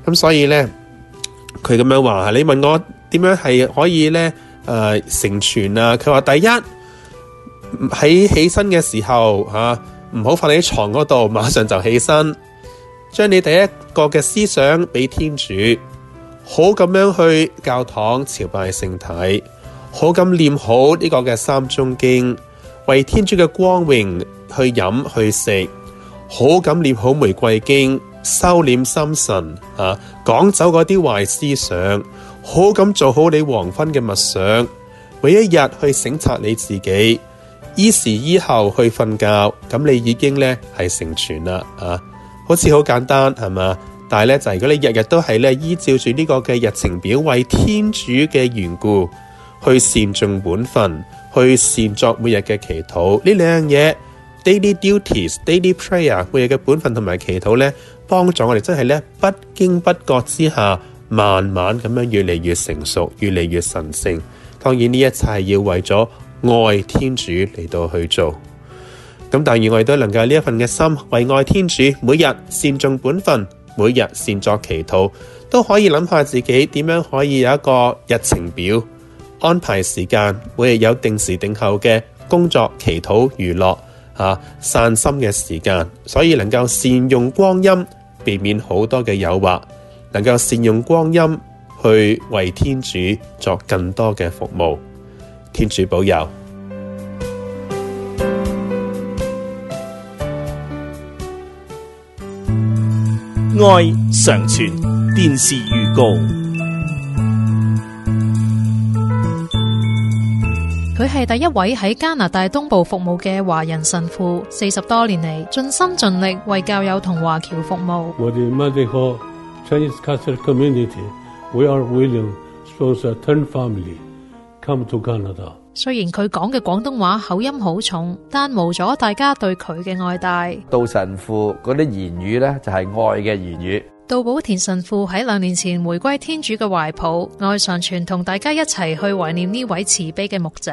咁所以咧，佢咁樣話，你問我點樣係可以咧成全啊？佢話第一，喺起身嘅時候唔好瞓喺床嗰度，馬上就起身，將你第一個嘅思想俾天主，好咁樣去教堂朝拜聖體，好咁念好呢個嘅三鐘經，為天主嘅光榮去飲去食，好咁念好玫瑰經，收斂心神趕走嗰啲壞思想，好咁做好你黃昏嘅默想，每一日去省察你自己，依時依候去瞓覺，咁你已經咧係成全啦好似好簡單係嘛？但係咧就係如果你日日都係咧依照住呢個嘅日程表，為天主嘅緣故去善盡本分，去善作每日嘅祈禱，呢兩樣嘢 daily duties、daily prayer 每日嘅本分同埋祈禱咧，幫助我哋真係咧不經不覺之下，慢慢咁樣越嚟越成熟，越嚟越神聖。當然呢一切係要為咗愛天主嚟到去做。咁但願我哋都能夠呢一份嘅心，為愛天主，每日善盡本分，每日善作祈禱，都可以諗下自己點樣可以有一個日程表，安排時間，每日有定時定候嘅工作、祈禱、娛樂散心嘅時間，所以能夠善用光陰，避免好多嘅誘惑，能夠善用光陰去為天主作更多嘅服務。天主保佑。 愛常傳電視預告。 佢係第一位喺加拿大東部服務嘅華人神父，40多年嚟盡心盡力為教友同華僑服務。 我哋 Medical Chinese Catholic Community, we are willing to turn family come to Canada。 雖然佢講嘅廣東話口音好重，但無阻大家對佢嘅愛戴。 杜神父嗰啲言語呢，就係愛嘅言語。 杜寶田神父喺2年前回歸天主嘅懷抱，愛常傳同大家一齊去懷念呢位慈悲嘅牧者。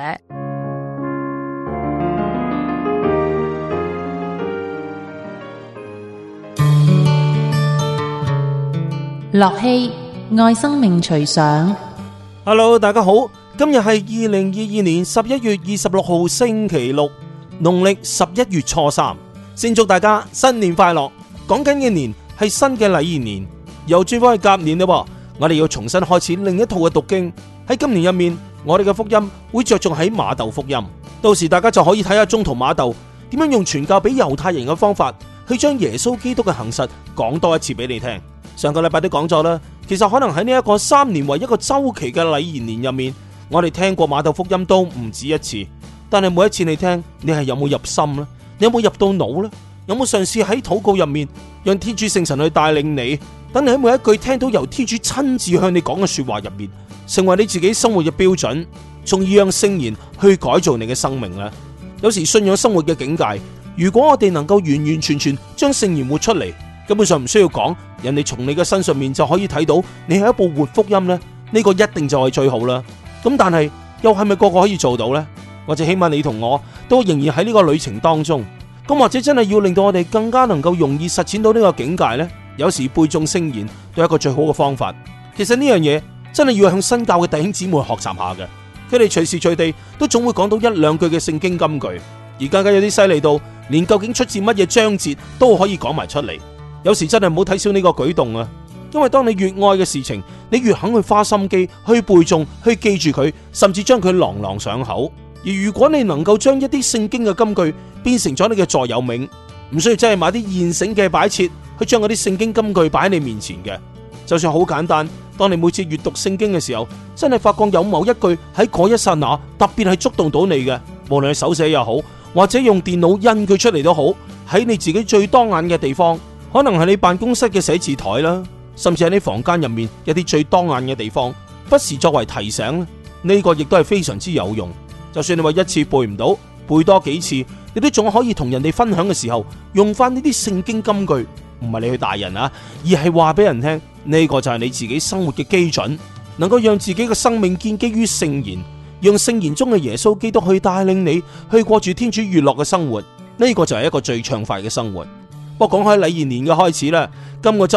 樂器愛生命隨想。 Hello， 大家好，今日係2022年11月26號星期六，農曆11月初3。先祝大家新年快樂。講緊嘅年係新嘅禮儀年，又轉翻去甲年啦。我哋要重新開始另一套嘅讀經。喺今年入面，我哋嘅福音會着重喺馬竇福音。到時大家就可以睇下宗徒馬竇點樣用傳教俾猶太人嘅方法，去將耶穌基督嘅行實講多一次俾你聽。上個禮拜都講咗啦，其實可能喺呢一個3年為一個周期嘅禮儀年入面，我哋聽過馬竇福音都唔止一次。但係每一次你聽，你係有冇入心呢？你有冇入到腦呢？有冇嘗試喺禱告入面，讓天主聖神去帶領你，等你喺每一句聽到由天主親自向你講嘅說話入面，成為你自己生活嘅標準，從而讓聖言去改造你嘅生命呢？有時信仰生活嘅境界，如果我哋能夠完完全全將聖言活出嚟，根本上唔需要講，人哋從你嘅身上面就可以睇到你係一部活福音呢。呢個一定就係最好啦。咁但係又係咪個個可以做到呢？或者起碼你同我都仍然喺呢個旅程當中。咁或者真係要令到我哋更加能夠容易實踐到呢個境界呢？有時背誦聖言都係一個最好嘅方法。其實呢樣嘢真係要向新教嘅弟兄姊妹學習下嘅，佢哋隨時隨地都總會講到1、2句嘅聖經金句，而更加有啲犀利到連究竟出自乜嘢章節都可以講埋出嚟。有時真係唔好睇少呢個舉動啊！因為當你越愛嘅事情，你越肯去花心機去背誦、去記住佢，甚至將佢朗朗上口。而如果你能夠將一啲聖經嘅金句變成咗你嘅座右銘，唔需要真係買啲現成嘅擺設去將嗰啲聖經金句擺喺你面前嘅，就算好簡單。當你每次閱讀聖經嘅時候，真係發覺有某一句喺嗰一剎那特別係觸動到你嘅，無論係手寫又好，或者用電腦印佢出嚟都好，喺你自己最當眼嘅地方。可能係你辦公室嘅寫字台啦，甚至喺你房間入面一啲最當眼嘅地方，不時作為提醒，呢個亦都係非常之有用。就算你話一次背唔到，背多幾次，你都仲可以同人哋分享嘅時候用翻呢啲聖經金句，唔係你去大人啊，而係話俾人聽，呢個就係你自己生活嘅基準，能夠讓自己嘅生命建基於聖言，讓聖言中嘅耶穌基督去帶領你去過住天主悅樂嘅生活，呢個就係一個最暢快嘅生活。不過講開禮儀年嘅開始啦，今個周末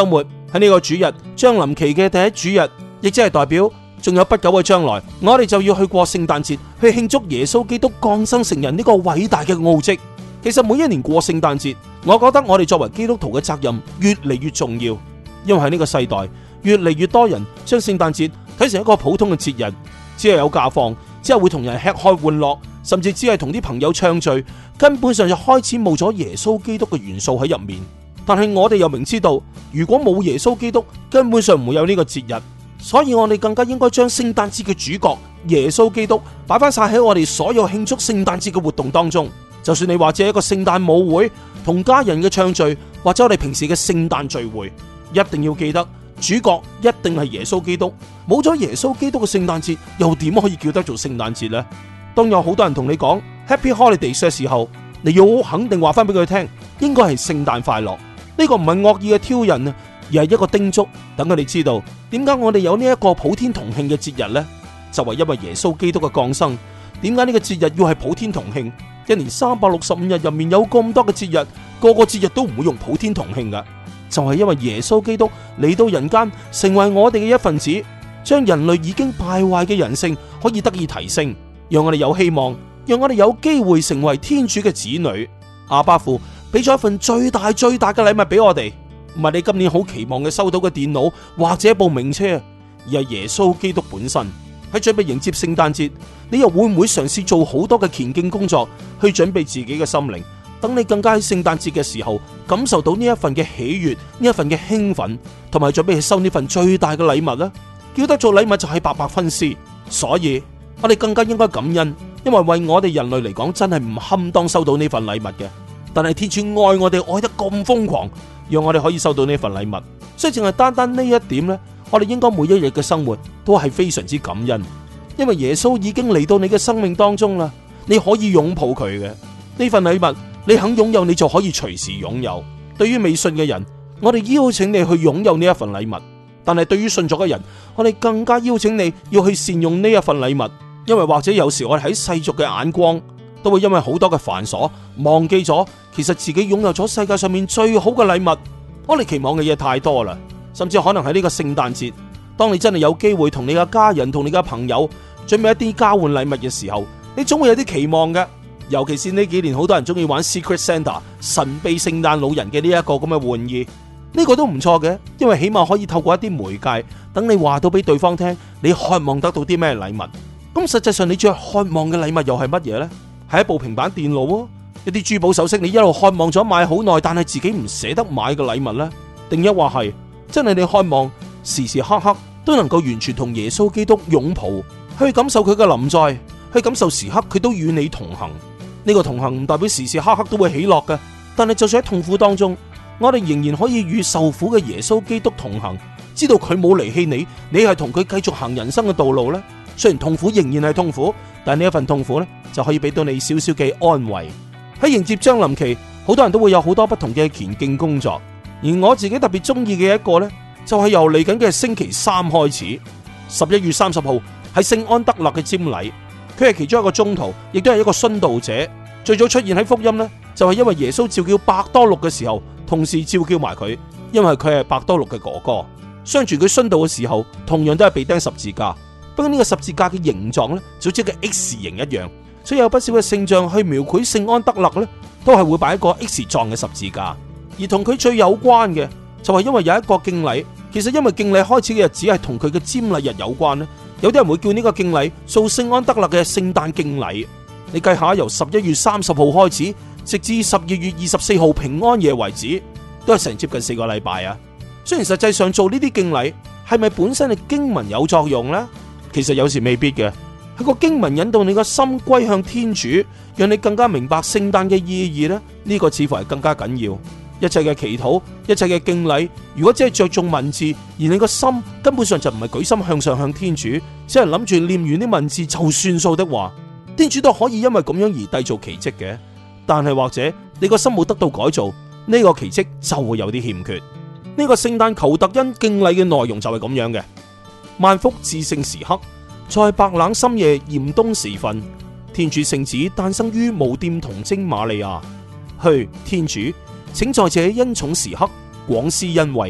喺呢個主日將臨期嘅第一主日，亦即係代表仲有不久嘅將來，我哋就要去過聖誕節，去慶祝耶穌基督降生成人呢個偉大嘅奧蹟。其實每一年過聖誕節，我覺得我哋作為基督徒嘅責任越嚟越重要，因為喺呢個世代越嚟越多人將聖誕節睇成一個普通嘅節日，只係有假放，只係會同人吃喝玩樂，甚至只係同啲朋友暢聚，根本上就開始冇咗耶穌基督嘅元素喺入面。但係我哋又明知道，如果冇耶穌基督，根本上唔會有呢個節日，所以我哋更加應該將聖誕節嘅主角耶穌基督擺翻晒喺我哋所有慶祝聖誕節嘅活動當中。就算你或者一個聖誕舞會，同家人嘅暢聚，或者我哋平時嘅聖誕聚會，一定要記得主角一定係耶穌基督。冇咗耶穌基督嘅聖誕節，又點可以叫得做聖誕節呢？當有好多人同你講 Happy Holidays 嘅時候，你要好肯定話翻俾佢聽，應該係聖誕快樂。呢個唔係惡意嘅挑釁啊，而係一個叮囑，等佢哋知道點解我哋有呢一個普天同慶嘅節日呢？就係因為耶穌基督嘅降生。點解呢個節日要係普天同慶？一年365日入面有咁多嘅節日，個個節日都唔會用普天同慶噶，就係因為耶穌基督嚟到人間，成為我哋嘅一份子，將人類已經敗壞嘅人性可以得以提升，讓我哋有希望，讓我哋有機會成為天主嘅子女。阿爸父俾咗一份最大嘅禮物俾我哋，唔係你今年好期望嘅收到嘅電腦或者部名車，而係耶穌基督本身。喺準備迎接聖誕節，你又會唔會嘗試做好多嘅虔敬工作，去準備自己嘅心靈，等你更加喺聖誕節嘅時候感受到呢一份嘅喜悅，呢一份嘅興奮，同埋準備去收呢份最大嘅禮物呢？叫得做禮物就係白白分施，所以我哋更加應該感恩，因為為我哋人類嚟講真係唔堪當收到呢份禮物嘅。但係天主愛我哋愛得咁瘋狂，讓我哋可以收到呢份禮物，所以淨係單單呢一點呢，我哋應該每一日嘅生活都係非常之感恩，因為耶穌已經嚟到你嘅生命當中啦，你可以擁抱佢嘅呢份禮物，你肯擁有，你就可以隨時擁有。對於未信嘅人，我哋邀請你去擁有呢一份禮物，但係對於信咗嘅人，我哋更加邀請你要去善用呢一份禮物，因為或者有時我哋喺世俗嘅眼光都會因為好多嘅繁瑣忘記咗，其實自己擁有咗世界上面最好嘅禮物。我哋期望嘅嘢太多啦，甚至可能喺呢個聖誕節，當你真係有機會同你嘅家人同你嘅朋友準備一啲交換禮物嘅時候，你總會有啲期望嘅。尤其是呢幾年好多人中意玩 Secret Santa 神秘聖誕老人嘅呢一個咁嘅玩意，呢個都唔錯嘅，因為起碼可以透過一啲媒介，等你話到俾對方聽，你渴望得到啲咩禮物。咁實際上你最渴望嘅禮物又係乜嘢呢？係一部平板電腦啊，一啲珠寶首飾你一路渴望咗買好耐，但係自己唔捨得買嘅禮物呢？定一話係真係你渴望時時刻刻都能夠完全同耶穌基督擁抱，去感受佢嘅臨在，去感受時刻佢都與你同行。呢個同行唔代表時時刻刻都會喜樂嘅，但係就算喺痛苦當中，我哋仍然可以與受苦嘅耶穌基督同行，知道佢冇離棄你，你係同佢繼續行人生嘅道路呢。雖然痛苦仍然係痛苦，但係呢一份痛苦呢，就可以俾到你少少嘅安慰。喺迎接將臨期，好多人都會有好多不同嘅虔敬工作，而我自己特別中意嘅一個呢，就係由嚟緊嘅星期3開始，11月30號係聖安德肋嘅瞻禮。佢係其中一個宗徒，亦都係一個殉道者。最早出現喺福音呢，就係因為耶穌召叫伯多祿嘅時候，同時召叫埋佢，因為佢係伯多祿嘅哥哥。相傳佢殉道嘅時候，同樣都係被釘十字架。不過呢個十字架嘅形狀呢，就好似個 X 形一樣，所以有不少嘅聖像去描繪聖安德肋呢，都係會擺一個 X 狀嘅十字架。而同佢最有關嘅，就係因為有一個敬禮。其實因為敬禮開始嘅日子係同佢嘅瞻禮日有關呢，有啲人會叫呢個敬禮做聖安德肋嘅聖誕敬禮。你計下，由11月30號開始，直至12月24號平安夜為止，都係成接近4個禮拜啊。雖然實際上做呢啲敬禮係咪本身嘅經文有作用呢？其實有時未必嘅，係個經文引導你個心歸向天主，讓你更加明白聖誕嘅意義呢。呢個似乎係更加緊要。一切嘅祈禱，一切嘅敬禮，如果只係着重文字，而你個心根本上就唔係舉心向上向天主，只係諗住念完啲文字就算數的話，天主都可以因為咁樣而締造奇蹟嘅。但係或者你個心冇得到改造，呢個奇蹟就會有啲欠缺。呢個聖誕求特恩敬禮嘅內容就係咁樣嘅。萬福至聖時刻，在白冷深夜嚴冬時分，天主聖子誕生於無玷童貞瑪利亞。去天主，請在這恩寵時刻廣施恩惠，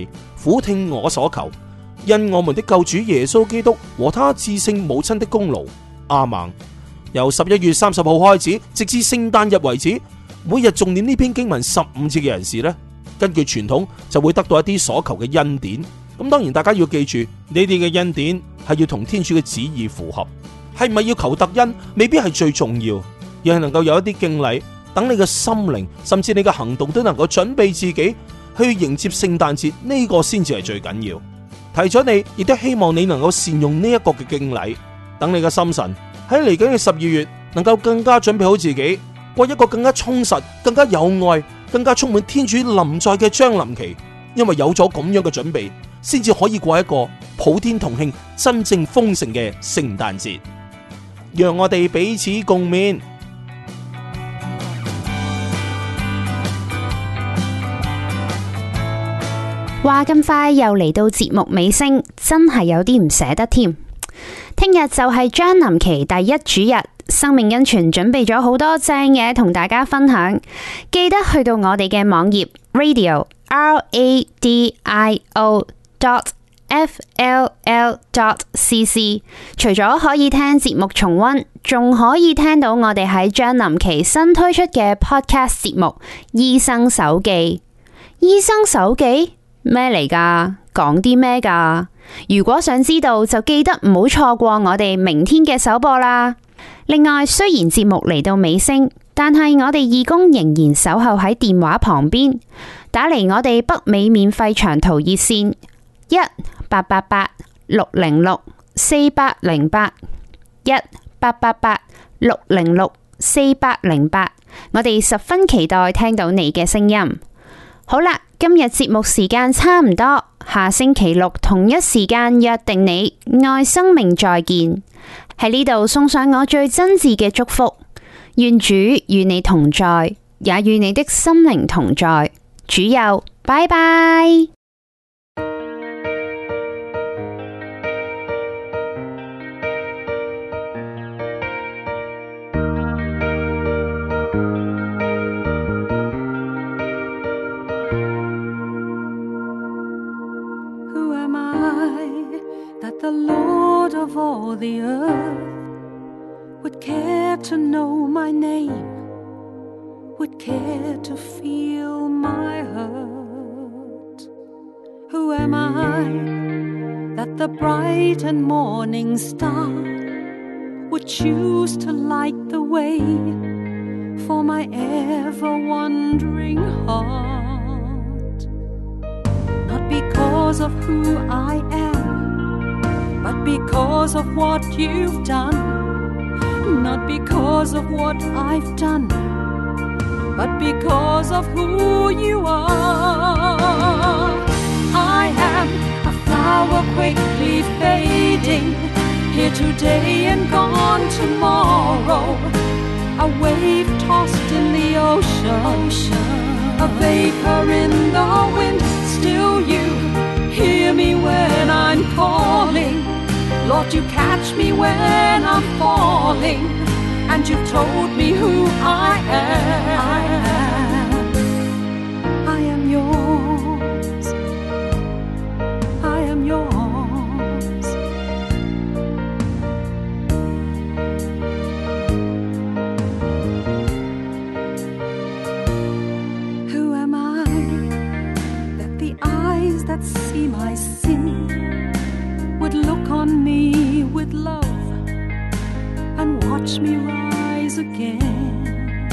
俯聽我所求，因我們的救主耶穌基督和他至聖母親的功勞。阿們。由11月30號開始，直至聖誕日為止，每日重念呢篇經文15次嘅人士呢，根據傳統就會得到一啲所求嘅恩典。咁當然大家要記住，呢啲嘅恩典係要同天主嘅旨意符合，係咪要求特恩未必係最重要，而係能夠有一啲敬禮，等你嘅心靈甚至你嘅行動都能夠準備自己去迎接聖誕節，呢個先至係最緊要。提咗你，亦都希望你能夠善用呢一個嘅敬禮，等你嘅心神喺嚟緊嘅12月能夠更加準備好自己，過一個更加充實、更加有愛、更加充滿天主臨在嘅將臨期。因為有咗咁樣嘅準備，先至可以過一個普天同慶、真正豐盛嘅聖誕節。讓我哋彼此共勉。 話咁快又嚟到節目尾聲，真係有啲唔捨得添。聽日就係將臨期第一主日，生命恩泉準備咗好多正嘢同大家分享，記得去到我哋嘅網頁 radio.radio.fll.cc， 除咗可以聽節目重溫，仲可以聽到我哋喺將臨期新推出嘅 podcast 節目《醫生手記》。醫生手記咩嚟㗎？講啲咩㗎？如果想知道，就記得唔好錯過我哋明天嘅首播啦。另外，雖然節目嚟到尾聲，但係我哋義工仍然守候喺電話旁邊，打嚟我哋北美免費長途熱線1-888-606-4808 1-888-606-4808，我哋十分期待聽到你嘅聲音。好啦，今日節目時間差唔多，下星期六同一時間約定你，愛生命再見。喺呢度送上我最真摯嘅祝福，願主與你同在，也與你的心靈同在。主佑，拜拜。 The Lord of all the earth would care to know my name, would care to feel my hurt. Who am I that the bright and morning star would choose to light the way for my ever-wandering heart? Not because of who I am, but because of what you've done. Not because of what I've done, but because of who you are. I am a flower quickly fading, here today and gone tomorrow. A wave tossed in the ocean, a vapor in the wind. Still you hear me when I'm calling. Lord, you catch me when I'm falling, and you've told me who I am. I am yours. I am yours. Who am I that the eyes that see my sin would look on me with love and watch me rise again?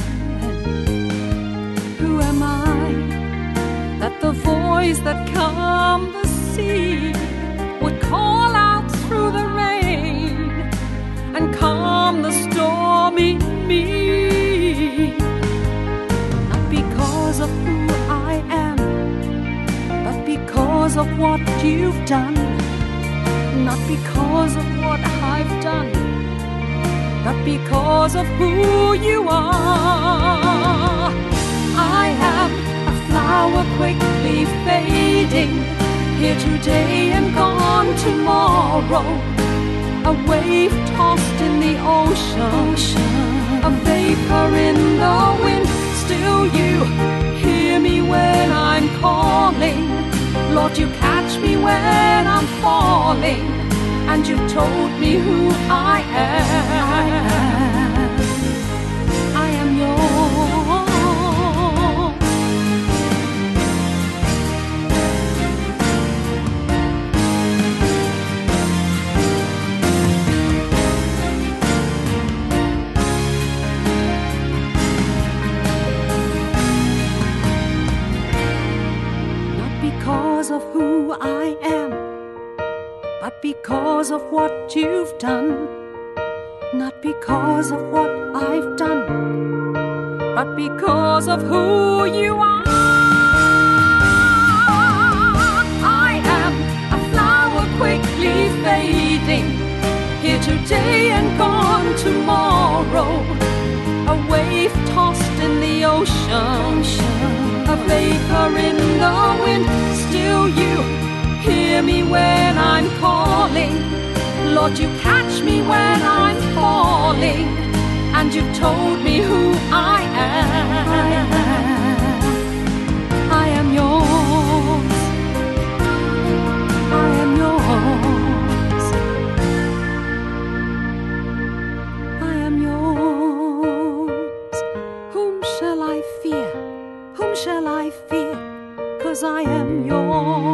Who am I that the voice that calmed the sea would call out through the rain and calm the storm in me? Not because of who I am, but because of what you've done. Not because of what I've done, but because of who you are. I am a flower quickly fading, here today and gone tomorrow. A wave tossed in the ocean, a vapor in the wind. Still you hear me when I'm calling. Lord, you catch me when I'm falling, and you've told me who I am. I am yours. Not because of who I am, but because of what you've done. Not because of what I've done, but because of who you are. I am a flower quickly fading, here today and gone tomorrow. A wave tossed in the ocean, a vapor in the wind. Still you hear me when I'm calling. Lord, you catch me when I'm falling, and you've told me who I am. I am yours. I am yours. I am yours. Whom shall I fear? Whom shall I fear? 'Cause I am yours.